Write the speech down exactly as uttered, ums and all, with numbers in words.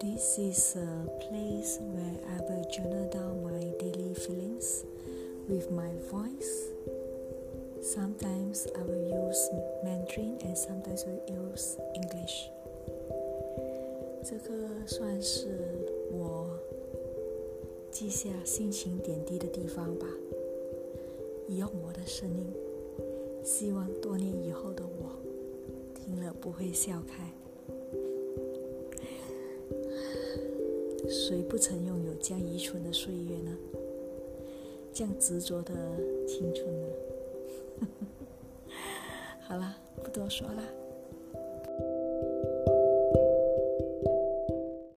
This is a place where I will journal down my daily feelings with my voice. Sometimes I will use Mandarin and sometimes I will use English. 这个算是我记下心情点滴的地方吧，用我的声音，希望多年以后的我听了不会笑开。谁不曾拥有这样愚蠢的岁月呢？这样执着的青春呢？好了，不多说了。